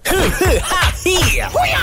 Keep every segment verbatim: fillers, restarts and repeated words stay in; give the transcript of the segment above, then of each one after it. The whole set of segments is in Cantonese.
A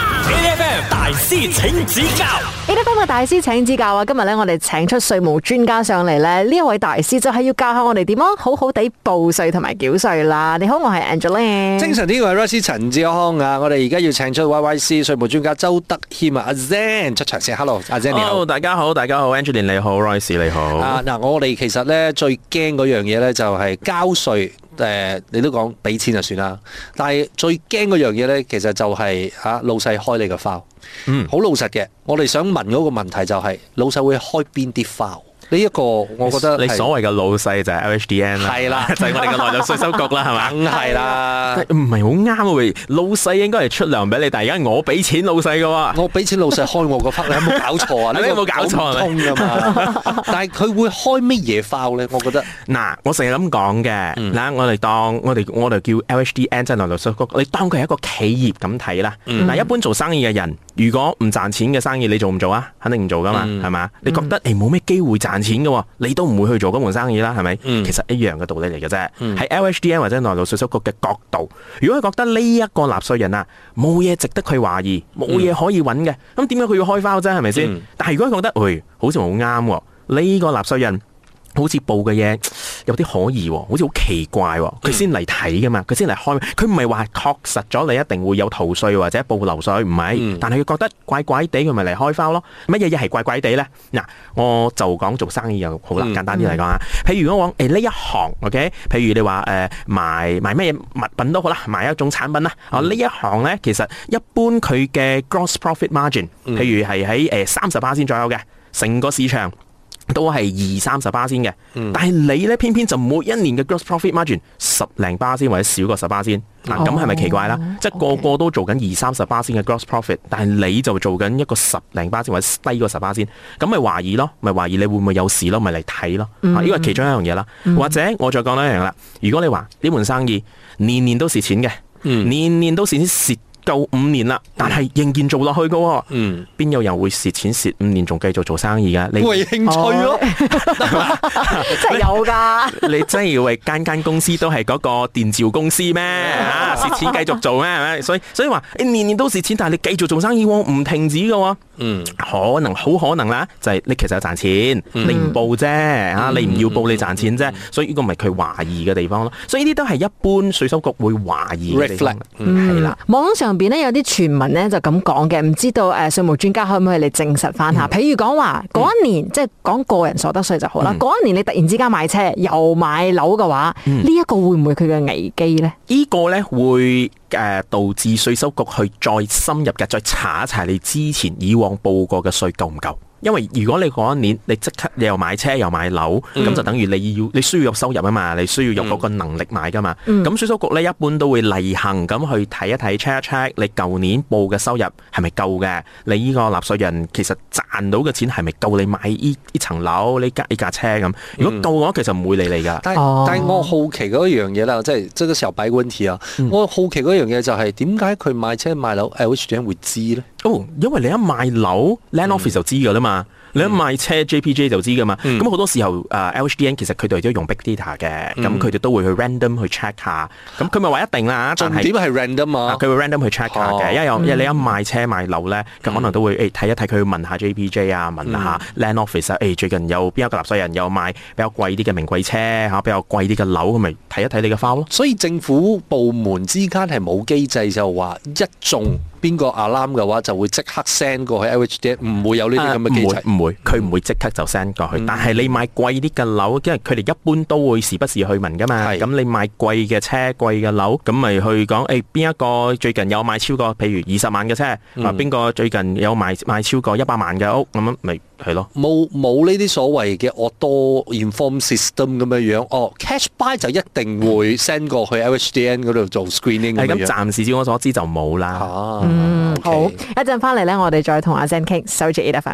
F M 大師請指教 ，A F M 嘅大師請指教啊！今日咧，我哋請出稅務專家上嚟咧，呢一位大師就係要教下我哋點樣好好地報稅同埋繳稅啦。你好，我係 Angeline。 精神啲嘅係 Royce 陳志康啊！我哋而家要請出 Y Y C 稅務專家周德謙啊，阿 Zen 出場先。Hello， 阿 Zen 你好。 Hello， 大家好，大家好 ，Angeline 你好 ，Royce 你好。 啊，嗱，我哋其實咧最驚嗰樣嘢咧就係交稅。誒、呃，你都講俾錢就算啦，但係最驚嗰樣嘢咧，其實就係、是、嚇、啊、老細開你個 file，嗯，好老實嘅。我哋想問嗰個問題就係、是、老細會開邊啲 file？呢一個我覺得你所謂嘅老細就係 L H D N 啦， 係啦， 就係我哋嘅內政稅收局啦，係嘛？ 梗係啦， 唔係好啱喎，老細應該係出糧俾你，但係而家我俾錢老細嘅喎， 我俾錢老細開我個 file，你有冇搞錯啊？ 你有冇搞錯啊？ 通㗎嘛？但係佢會開乜嘢 file 咧？我覺得嗱，我成日咁講嘅，嗱，我哋當我哋我哋叫 L H D N 即係內政稅局，你當佢係一個企業咁睇啦。嗱，一般做生意嘅人，如果唔賺錢嘅生意，你做唔做啊？肯定唔做噶嘛，係嘛？你覺得誒冇咩機會賺錢嘅喎，你都唔會去做嗰門生意啦，係咪？嗯、其實一樣嘅道理嚟嘅啫。喺、嗯、L H D N 或者內政稅收局嘅角度，如果佢覺得呢一個納稅人啊冇嘢值得佢懷疑，冇嘢可以揾嘅，咁點解佢要開 file 啫？係咪先？嗯、但係如果佢覺得，喂、哎，好似好啱喎，呢、這個納稅人好似報嘅嘢有啲可疑喎，好似好奇怪喎，佢先嚟睇噶嘛，佢先嚟開，佢唔係話確實咗你一定會有逃稅或者報漏稅，唔係，嗯、但係佢覺得怪怪地，佢咪嚟開 file 咯。乜嘢嘢係怪怪地咧？嗱，我就講做生意又好啦，簡單啲嚟講啊。譬如如果講誒呢一行 ，OK， 譬如你話誒、呃、賣賣咩嘢物品都好啦，賣一種產品啦，啊呢、嗯、一行咧其實一般佢嘅 gross profit margin，譬如係喺誒三十巴仙左右嘅，成個市場都係二三十巴仙嘅，嗯、但係你咧偏偏就每一年嘅 gross profit margin 十零巴仙或者少過十巴仙，嗱咁係咪奇怪啦？哦、即係個個都做緊二三十巴仙嘅 gross profit， 但係你就做緊一個十零巴仙或者低過十巴仙，咁咪懷疑咯，咪懷疑你會唔會有事咯，咪嚟睇咯，呢個係其中一樣嘢啦。嗯、或者我再講多一樣啦，如果你話呢門生意年年都蝕錢嘅，嗯、年年都蝕錢蝕夠五年啦，但係仍然做落去噶，嗯，邊有人會蝕錢蝕五年仲繼續做生意噶？你為興趣咯， 真係有噶。 你真係以為間間公司都係嗰個電召公司咩？啊，蝕錢繼續做咩？係咪？所以所以話你年年都蝕錢，但係你繼續做生意，唔停止噶。嗯，可能好可能啦，就係你其實有賺錢，你唔報啫，吓你唔要報你賺錢啫，所以呢個咪佢懷疑嘅地方咯。所以呢啲都係一般稅收局會懷疑嘅地方。係啦， 網上邊咧有啲傳聞咧就咁講嘅，唔知道誒稅務專家可唔可以嚟證實翻下？譬如講話嗰一年，即係講個人所得稅就好啦。嗰一年你突然之間買車又買樓嘅話，呢一個會唔會佢嘅危機咧？ 呢個咧會誒導致稅收局去再深入嘅，再查一查你之前以往報過嘅稅夠唔夠？因為如果你嗰一年你即刻你又買車又買樓，咁、嗯、就等於你要你需要有收入啊嘛，你需要有嗰個能力買噶嘛。咁稅、嗯、收局咧一般都會例行咁去睇一睇 check 一 check 你舊年報嘅收入係咪夠嘅？你呢個納稅人其實賺到嘅錢係咪夠你買呢呢層樓呢架呢架車咁？如果夠嘅話，其實唔會理你噶。 但係、哦、但係我好奇嗰一樣嘢啦，即係即係個時候擺個問題啊！嗯、我好奇嗰樣嘢就係點解佢買車買樓 L H D N 會知咧？ 哦，因為你一賣樓 Land Office 就知噶啦嘛。你一賣車 J P J 就知噶嘛，咁好、嗯、多時候誒 L H D N 其實佢哋都用 big data 嘅，咁佢哋都會去 random 去 check 下，咁佢咪話一定啦， 重點係 random 啊， 佢會 random 去 check 下嘅，哦、因為有因為你一賣車賣樓咧，咁、嗯、可能都會誒睇一睇，佢問下 J P J 啊，問下 Land Office 啊，誒最近有邊一個納稅人有賣比較貴啲嘅名貴車嚇，比較貴啲嘅樓，咁咪睇一睇你嘅 file 咯。所以政府部門之間係冇機制就話一中邊個 alarm 嘅話就會即刻 send 過去 L H D N， 唔會有呢啲咁嘅機制， 唔、啊、會，佢唔會即刻就 send 過去。嗯、但係你買貴啲嘅樓，因為佢哋一般都會時不時去問噶嘛。咁是你買貴嘅車、貴嘅樓，咁咪去講誒邊一個最近有買超過，譬如二十萬嘅車，嗯、啊邊個最近有買買超過一百萬嘅屋，咁樣咪係咯。 冇冇呢啲所謂嘅 auto inform system 咁樣樣，哦 cash buy 就一定會 send 過去 L H D N 嗰度做 screening 咁樣。 咁暫時照我所知就冇啦。 啊嗯， okay. 好，一陣翻嚟咧，我哋再同阿 Zen 傾，守住 A F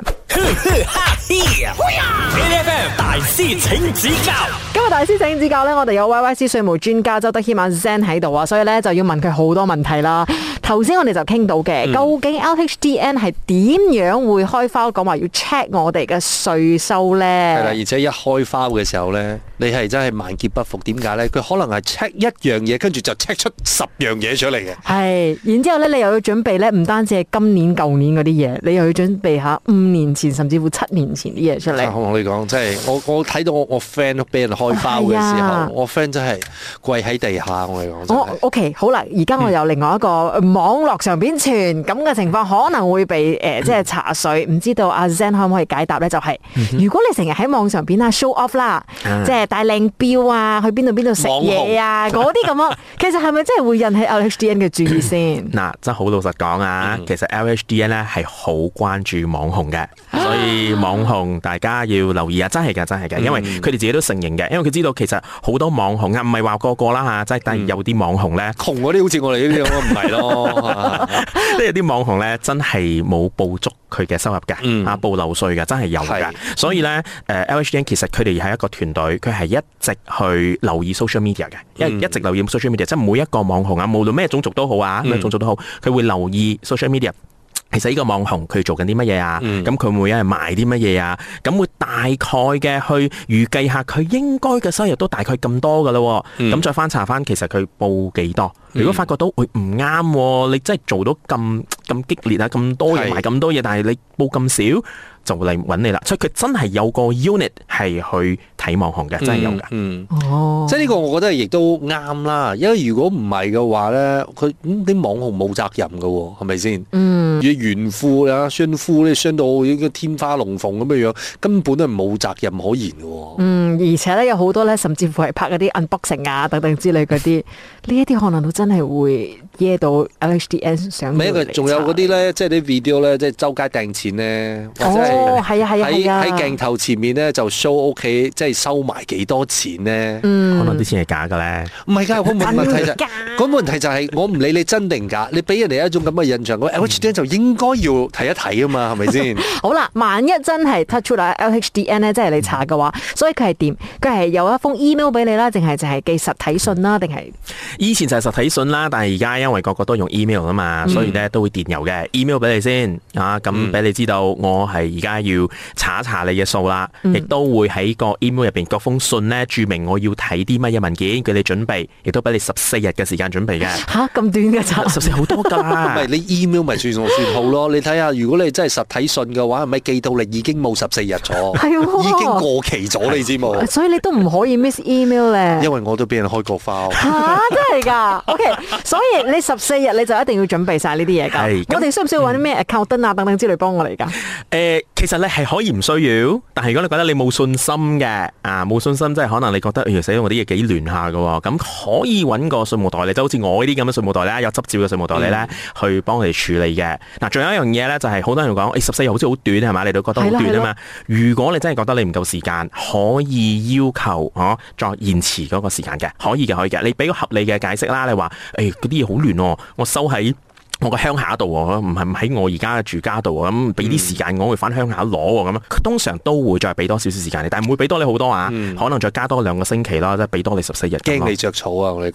M。A F M 大師請指教。今日大師請指教咧，我哋有 Y Y C 稅務專家周德謙阿 Zen 喺度啊，所以咧就要問佢好多問題啦。 頭先我哋就傾到嘅， 嗯、 究竟 L H D N 係點樣會開花講話要 check 我哋嘅稅收咧？ 係啦，而且一開花嘅時候咧，你係真係萬劫不復。點解咧？佢可能係 check 一樣嘢，跟住就 check 出十樣嘢出嚟嘅。 係，然之後咧，你又要準備咧，唔單止係今年、舊年嗰啲嘢，你又要準備下五年前甚至乎七年前啲嘢出嚟。 我同你講，真係我我睇到我我 friend 都俾人開花嘅時候，啊、我 friend 真係跪喺地下。我嚟講，我 OK 好啦，而家我有另外一個網絡上邊傳咁嘅情況，可能會被誒、呃、即係查稅，唔知道阿 Zen 可唔可以解答咧？就係、是、如果你成日喺網上邊啊 show off 啦，嗯、即係帶靚錶啊，去邊度邊度食嘢啊，嗰啲咁啊，其實係咪真係會引起 L H D N 嘅注意先？ 嗱，真係好老實講啊，其實 L H D N 咧係好關注網紅嘅，所以網紅大家要留意啊！真係㗎，真係㗎，因為佢哋自己都承認嘅，因為佢知道其實好多網紅啊，唔係話個個啦嚇，即係但係有啲網紅咧， 窮嗰啲好似我哋呢啲咁唔係咯， 即係啲網紅咧真係冇報足佢嘅收入㗎，嗯、啊報漏稅㗎，真係有㗎，是所以咧誒 L H D N 其實佢哋係一個團隊，佢係一直去留意 social media 嘅，一、嗯、一直留意 social media，即係每一個網紅啊，無論咩種族都好啊，咩種族都好，佢會留意 social media。其實呢個網紅佢做緊啲乜嘢啊？咁佢、嗯、每一日賣啲乜嘢啊？咁會大概嘅去預計下佢應該嘅收入都大概咁多噶啦。咁、嗯、再翻查翻，其實佢報幾多？如果發覺到會唔啱，你真係做到咁咁激烈啊，咁多嘢賣咁多嘢，是但係你報咁少，就嚟揾你啦。所以佢真係有個 unit 係去睇網紅嘅，真係有噶。嗯， 哦， 即係呢個我覺得亦都啱啦。因為如果唔係嘅話咧，佢啲、嗯、網紅冇責任噶，係咪先？嗯，炫富啊，炫富咧，炫到已經天花龍鳳咁嘅樣，根本都係冇責任可言嘅。 嗯，而且咧有好多咧，甚至乎係拍嗰啲 unboxing 啊等等之類嗰啲，呢一啲可能都真係會惹到 L H D N 上。唔係一個， 仲有嗰啲咧，即係啲 video 咧，即係周街掟錢咧，或者係哦，係啊係啊係啊， 喺鏡頭前面咧就 show 屋企，即係收埋幾多錢咧。 嗯， 可能啲錢係假嘅咧。 唔係㗎，個問題就係，個問題就係我唔理你真定假，你俾人哋一種咁嘅印象，個 L H D N 就應該要睇一睇啊嘛，係咪先？ 好啦，萬一真係 touch 出嚟 L H D N 咧，即係你查嘅話，所以佢係點？佢係有一封 email 俾你啦，定係就係寄實體信啦，定係？ 以前就係實體信啦，但係而家因為個個都用 email 啊嘛，所以咧都會電郵嘅 email 俾你先啊，咁俾你知道我係而家要查一查你嘅數啦，亦、嗯、都會喺個 email 入邊嗰封信咧註明我要睇啲乜嘢文件，叫你準備，亦都俾你十四日嘅時間準備嘅。吓，咁短嘅咋？十四好多噶， 唔係你 email 咪算數算好咯？你睇下，如果你真係實體信嘅話，係咪寄到你已經冇十四日咗？係喎，已經過期咗，你知冇？ 所以你都唔可以 miss email 咧。 因為我都俾人開過花。 吓、啊，真係噶 ？OK，所以你十四日你就一定要準備晒呢啲嘢噶。係，我哋需唔需要揾啲咩 accountant 啊等等之類幫我嚟噶？誒、 呃，其實你係可以唔需要，但係如果你覺得你冇信心嘅，啊冇信心，即係可能你覺得，哎呀死，我啲嘢幾亂下噶，咁可以揾個稅務代理，就好似我呢啲咁嘅稅務代理啦，有執照嘅稅務代理咧，嗯、去幫你處理嘅。嗱，仲有一樣嘢咧，就係好多人講，誒十四日好似好短係嘛，你都覺得好短啊嘛。如果你真係覺得你唔夠時間，可以要求哦、啊、再延遲嗰個時間嘅，可以嘅，可以嘅。你俾個合理嘅解釋啦，你話誒嗰啲嘢好亂，我收喺我個鄉下度喎，唔係喺我而家嘅住家度喎，咁俾啲時間我會翻鄉下攞喎，咁佢通常都會再俾多少少時間你，但係唔會俾多你好多啊，嗯、可能再加多兩個星期啦，即係俾多你十四日。 驚你着草啊！我哋講。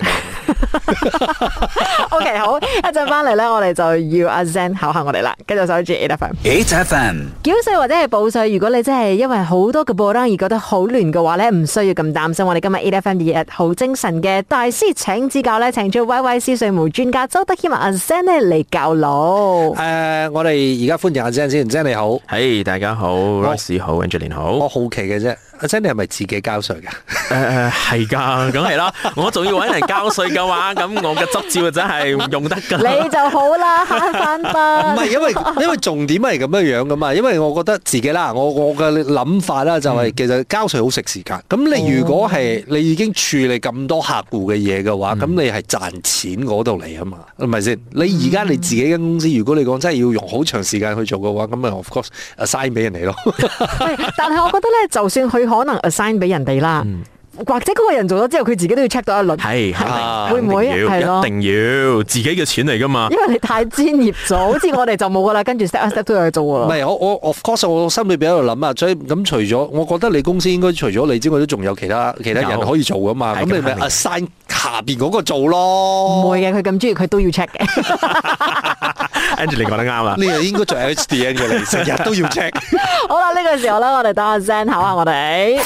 O K， 好，一陣翻嚟咧，我哋就要阿 Zen 考下我哋啦，跟住守住eight F M。eight F M 繳稅或者係報稅，如果你真係因為好多嘅報單而覺得好亂嘅話咧，唔需要咁擔心。我哋今日eight F M 二日好精神嘅大師請指教咧，請出 Y Y C 稅務專家周德謙阿 Zen 咧嚟教路。 誒、呃，我哋而家歡迎阿 Zen 先 ，Zen 你好， 係、hey, 大家好 ，Royce 好 ，Angeline 好。 我好奇嘅啫，阿 Zen 你係咪自己交稅噶？ 誒誒，係噶，梗係啦。我仲要搵人交稅嘅話，咁我嘅執照真係用得噶。 你就好啦，慳翻筆。 唔係，因為因為重點係咁樣樣噶嘛。因為我覺得自己啦，我我嘅諗法啦，就係其實交稅好食時間。咁、嗯、你如果係你已經處理咁多客戶嘅嘢嘅話，咁、嗯、你係賺錢嗰度嚟啊嘛，係咪先？你而家你自己間公司，如果你講真係要用好長時間去做嘅話，咁咪 of course assign 俾人哋咯。 但係我覺得咧，就算佢可能 assign 俾人哋啦。嗯或者嗰個人做咗之後，佢自己都要 check 到一輪， 係啊會唔會係咯？ 一定要自己嘅錢嚟噶嘛？ 因為你太專業咗，好似我哋就冇噶啦，跟住 step step 都有去做唔喎。 係我我 of course 我心裏邊喺度諗啊，所以咁除咗，我覺得你公司應該除咗你之外，都仲有其他其他人可以做噶嘛。咁你咪 assign 下邊嗰個做咯。 唔會嘅，佢咁中意，佢都要 check 嘅。 Angela 你講得啱啦。 呢個應該做 H D N 嘅，你成日都要 check。 好啦，呢個時候咧，我哋等阿 Zen 考下我哋。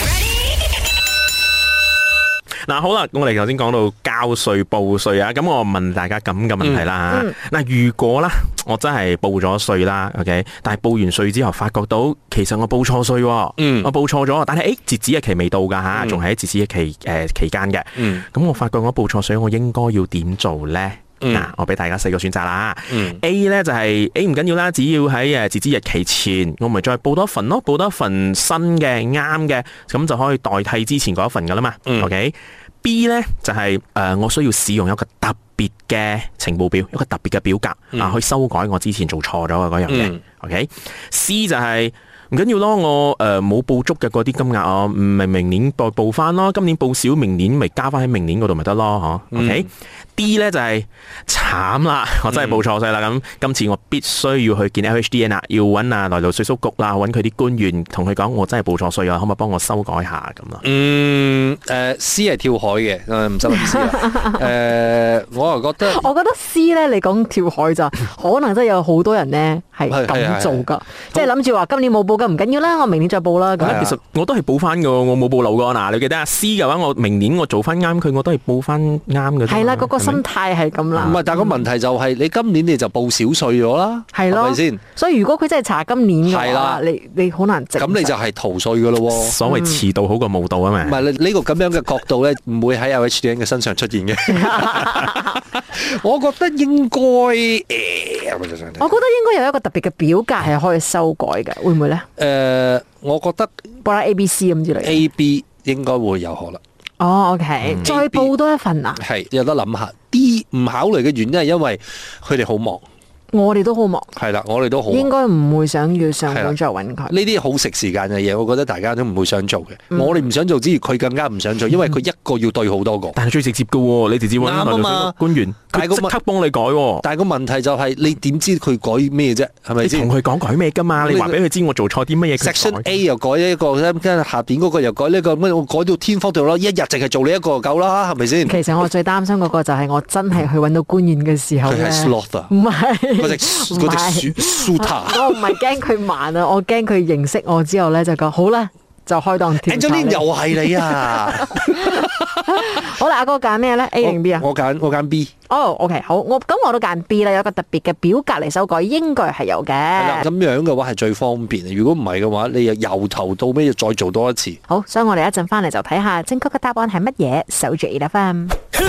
嗱，好啦，我哋頭先講到交稅報稅啊，咁我問大家咁嘅問題啦吓。嗱、嗯，如果啦，我真係報咗稅啦 ，OK， 但係報完稅之後，發覺到其實我報錯稅，嗯，我報錯咗，但係誒截止日期未到噶吓，仲係喺截止日期誒、呃、期間嘅，嗯，咁我發覺我報錯稅，我應該要點做咧？嗱、嗯，我俾大家四個選擇啦。嗯、A 咧就係 A 唔緊要啦，只要喺誒截止日期前，我咪再報多一份咯，報多一份新嘅啱嘅，咁就可以代替之前嗰一份噶啦嘛。嗯、OK。B 咧就係、是、誒、呃，我需要使用一個特別嘅情報表，一個特別嘅表格、嗯、啊，去修改我之前做錯咗嘅嗰樣嘢。嗯、OK，C 就係、是。唔緊要咯，我誒冇、呃、報足嘅嗰啲金額，我明明年再報翻咯，今年報少，明年咪加翻喺明年嗰度咪得咯，嗬、嗯、？OK，D 咧就係慘啦，我真係報錯稅啦，咁、嗯、今次我必須要去見 L H D N 啦，要揾啊來路稅屬局啦，揾佢啲官員同佢講，我真係報錯稅啊，可唔可以幫我修改下咁啊？ 嗯，誒、呃、C 係跳海嘅，唔使諗 C 啦。誒、呃，我又覺得， 我覺得 C 咧，你講跳海咋，可能真係有好多人咧係咁做噶，即係諗住話今年冇報。唔緊要啦，我明年再報啦。咁其實我都係報翻噶，我冇報漏噶。嗱，你記得啊 C 嘅話，我明年我做翻啱佢，我都係報翻啱嘅。 係啦，嗰、那個心態係咁啦。 唔係，但係個問題就係、是、你今年你就報少稅咗啦，係咯，係咪先？ 所以如果佢真係查今年嘅話，你你好難證。咁你就係逃稅噶咯。 所謂遲到好過冇到啊嘛。唔係呢個咁樣嘅角度咧，唔會喺 L H D N 嘅身上出現嘅。我覺得應該誒， 我覺得應該有一個特別嘅表格係可以修改嘅，會唔會咧？ 誒、呃，我覺得報啦 A、B、C 咁之類 A、B 應該會有可能。 哦 ，OK，、嗯、再報多一份啊？ 係有得諗下。D 唔考慮嘅原因係因為佢哋好忙。 我哋都好忙， 係啦，我哋都好， 應該唔會想要上門再揾佢。呢啲好食時間嘅嘢，我覺得大家都唔會想做嘅。嗯、我哋唔想做之餘，佢更加唔想做，因為佢一個要對好多個。 但係最直接嘅，你直接揾來路稅官員，佢即刻幫你改。 但係個問題就係、是，你點知佢改咩啫？係咪先？ 你同佢講改咩噶嘛？你話俾佢知我做錯啲乜嘢。 Section A 又改一個，跟住下邊嗰個又改呢、這個，乜我改到天荒地老，一日淨係做你一個就夠啦，係咪先？ 其實我最擔心嗰個就係我真係去揾到官員嘅時候咧， 佢係 sloth，唔係。 我唔係驚佢慢啊，我驚佢認識我之後咧就講好啦，就開檔調查。 Angeline 又係你啊！ 好啦，阿哥揀咩咧 ？A 定 B 啊？ 我揀我揀 B。 哦、oh，OK， 好，我咁我都揀 B 啦，有一個特別嘅表格嚟修改，應該係有嘅。係啦， 咁樣嘅話係最方便。如果唔係嘅話，你又由頭到尾要再做多一次。 好，所以我哋一陣翻嚟就睇下正確嘅答案係乜嘢。守住 A F M。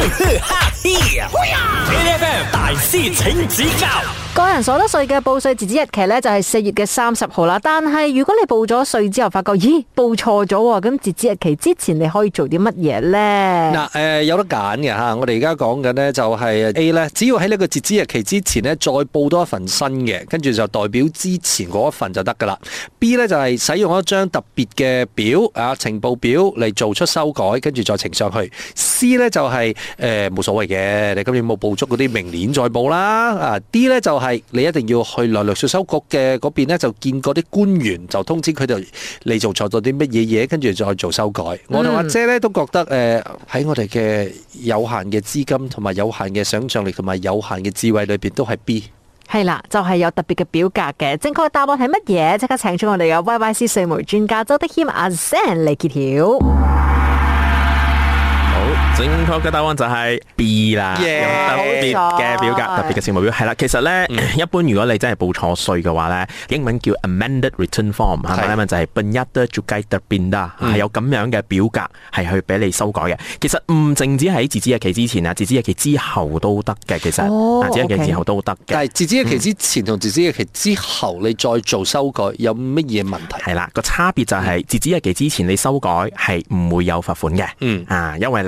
A F M 大師請指教。 個人所得稅嘅報稅截止日期咧就係四月嘅三十號啦。但係如果你報咗稅之後發覺，咦，報錯咗喎，咁截止日期之前你可以做啲乜嘢咧？ 嗱，誒，有得揀嘅吓。我哋而家講緊呢就係 A 咧，只要喺呢個截止日期之前呢，再報多一份新嘅，跟住就代表之前嗰一份就得噶啦。B 咧就係使用一張特別嘅表啊，情報表嚟做出修改，跟住再呈上去。C 咧就係誒冇所謂嘅，你今年冇報足嗰啲，明年再報啦。啊 D 咧就係你一定要去來路稅收局嘅嗰邊咧，就見嗰啲官員，就通知佢哋你做錯咗啲乜嘢嘢，跟住再做修改。嗯、我同阿姐咧都覺得誒喺、呃、我哋嘅有限嘅資金同埋有限嘅想象力同埋有限嘅智慧裏邊都係 B。 係啦，就係、是、有特別嘅表格嘅。正確嘅答案係乜嘢？即刻請出我哋嘅 Y Y C 稅務專家周德謙阿 Sam 嚟揭曉。 正確嘅答案就係 B 啦，yeah, 特別嘅表格，特別嘅情報表係啦。其實咧，嗯、一般如果你真係報錯稅嘅話咧，英文叫 amended return form， 係咪咧？就係 penyata cukai terpindah，係有咁樣嘅表格係去俾你修改嘅。其實唔淨止喺截止日期之前啊，截止日期之後都得嘅。其實， 哦、 截止日期之後都得嘅。 但係截止日期之前同截止日期之後，你再做修改有乜嘢問題？ 係啦，個差別就係截止日期之前你修改係唔會有罰款嘅。嗯啊，因為你未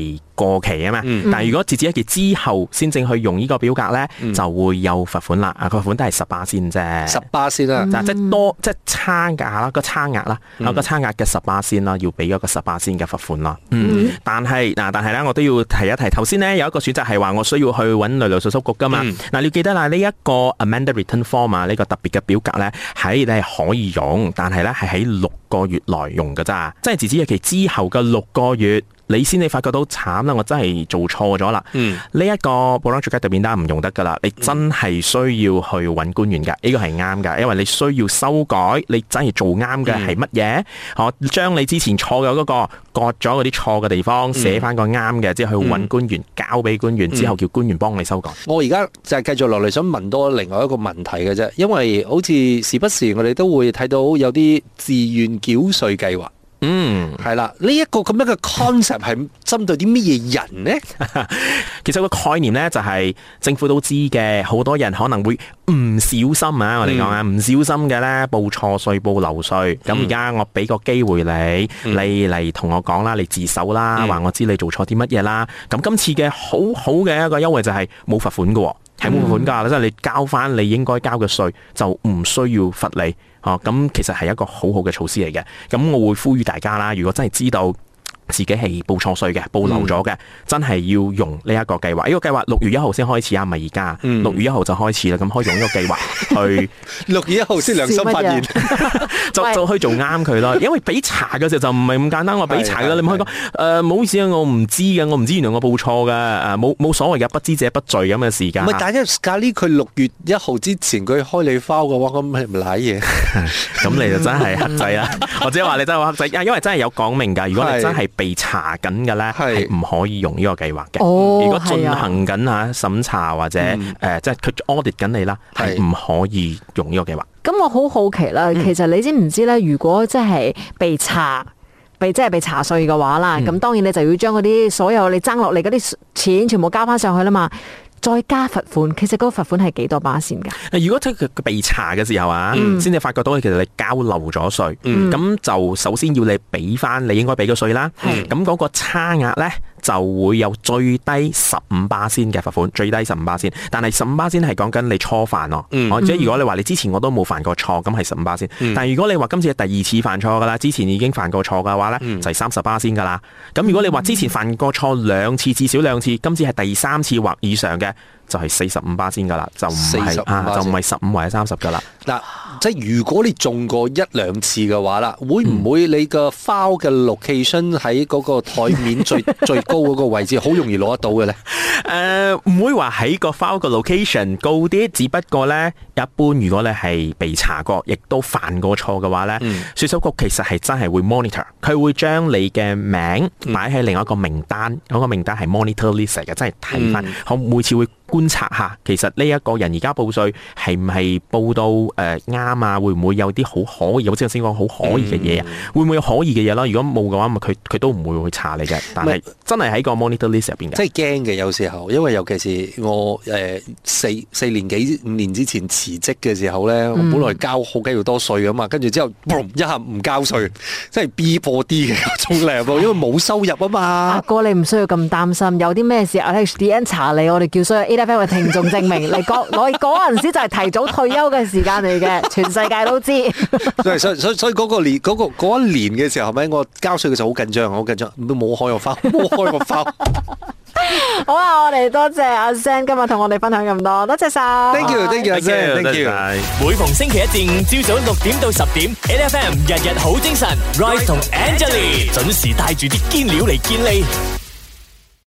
係過期啊嘛。 嗯、 但係如果截止日期之後先正去用呢個表格咧， 嗯、 就會有罰款啦。啊，個罰款都係十巴仙啫， 十巴仙啦， 嗱、嗯，即係多即係差額啦，個差額啦，有、嗯、個差額嘅十巴仙啦，要俾一個十巴仙嘅罰款啦。嗯，但係嗱，但係咧，我都要提一提，頭先咧有一個選擇係話我需要去揾旅遊稅收局噶嘛。嗱、嗯，你要記得啦，呢、這、一個 amended return form 啊，呢個特別嘅表格咧，喺你係可以用，但係咧係喺六個月內用噶咋，即係截止日期之後嘅六個月。你先你發覺到慘啦，我真係做錯咗啦。嗯，呢一個保障最佳特變單唔用得噶啦，你真係需要去揾官員噶，呢個係啱噶，因為你需要修改，你真係做啱嘅係乜嘢？我將你之前錯嘅嗰個割咗嗰啲錯嘅地方，寫翻個啱嘅，之後去揾官員，交俾官員，之後叫官員幫你修改。 我而家就係繼續落嚟想問多另外一個問題嘅啫，因為好似時不時我哋都會睇到有啲自願繳稅計劃。嗯，係啦，呢、這、一個咁樣嘅 concept 係針對啲乜嘢人呢？ 其實個概念呢，就係政府都知嘅，好多人可能會唔小心啊，我哋講啊，唔、嗯、小心嘅呢，報錯稅、報漏稅。咁而家我俾個機會你，嗯、你嚟同我講啦，你自首啦，話、嗯、我知你做錯啲乜嘢啦。咁今次嘅好好嘅一個優惠就係冇罰款嘅，係冇罰款噶，即係、嗯、你交翻你應該交嘅稅，就唔需要罰你。哦，咁其實係一個好好嘅措施嚟嘅，咁我會呼籲大家啦，如果真係知道自己係報錯稅嘅，報漏咗嘅，嗯、真係要用呢一個計劃。呢、這個計劃六月一號先開始啊，唔係而家，六月一號就開始啦。咁可以用呢個計劃去六月一號先良心發現， 就就可以做啱佢咯。因為俾查嘅時候就唔係咁簡單，我俾查嘅，你唔可以講誒，唔好意思啊，我唔知嘅，我唔知原來我報錯嘅，誒冇冇所謂嘅，不知者不罪咁嘅時間。 唔係，但係假呢佢六月一號之前佢開你 file 嘅話，咁係唔賴嘢？ 咁你就真係克制啦，或者話你真係話克制，因為真係有講明㗎。如果你真係被查緊嘅咧，係唔可以用呢個計劃嘅。 哦， 如果進行緊嚇審查或者誒、嗯呃，即係佢 audit 緊你啦，係唔可以用呢個計劃。 咁我好好奇啦，其實你知唔知咧？如果即係被查，被即係被查稅嘅話啦，咁、嗯、當然你就要將嗰啲所有你爭落嚟嗰啲錢全部交翻上去啦嘛。再加罰款，其實嗰個罰款係幾多巴仙㗎？ 如果即係佢被查嘅時候啊，先至、嗯、發覺到其實你交漏咗稅，咁、嗯、就首先要你俾翻你應該俾嘅稅啦。咁嗰、嗯、個差額咧就會有最低十五巴仙嘅罰款，最低十五巴仙。但係十五巴仙係講緊你初犯咯，或者、嗯、如果你話你之前我都冇犯過錯，咁係十五巴仙。嗯、但係如果你話今次係第二次犯錯㗎啦，之前已經犯過錯嘅話咧，嗯、就係三十巴仙㗎啦。咁如果你話之前犯過錯兩次，至少兩次，今次係第三次或以上嘅，就係四十五巴仙噶啦，就唔係啊，就唔係十五或者三十噶啦。嗱， 即係如果你中過一兩次嘅話啦，會唔會你個 file 嘅 location 喺嗰個台面最最高嗰個位置，好容易攞得到嘅咧？ 誒、呃，唔會話喺個 file 嘅 location 高啲，只不過咧，一般如果你係被查過，亦都犯過錯嘅話咧，嗯、稅收局其實係真係會 monitor，佢會將你嘅名擺喺另一個名單，嗰、嗯、個名單係 monitor list 嚟嘅，真係睇翻，我、嗯、每次會觀察下，其實呢一個人而家報稅係唔係報到誒啱啊？會唔會有啲好可疑？好似我先講好可疑嘅嘢啊？嗯、會唔會有可疑嘅嘢咯？如果冇嘅話，咪佢佢都唔會去查你嘅。但係真係喺個 monitor list 入邊嘅。 真係驚嘅，有時候，因為尤其是我誒、呃、四四年幾五年之前辭職嘅時候咧，嗯、我本來交好幾要多稅噶嘛，跟住之後嘣一下唔交稅，即係 B 貨 D 嘅嗰種嚟喎，因為冇收入啊嘛。 阿哥，你唔需要咁擔心，有啲咩事 H D N 查你，我哋叫所有 A F M 嘅聽眾證明，你嗰我嗰陣時就係提早退休嘅時間嚟嘅，全世界都知。 所以所以所以嗰個年嗰、嗰個嗰一年嘅時候，係咪我交稅嘅時候好緊張，好緊張，都冇開個 file，冇開個 file。 好啊，我哋多謝阿 Sam 今日同我哋分享咁多，多謝晒。 Thank you，Thank you，阿 Sam，Thank you。 每逢星期一至五朝早六點到十點 ，A F M 日日好精神 ，Rise 同 Angelie 準時帶住啲堅料嚟見你。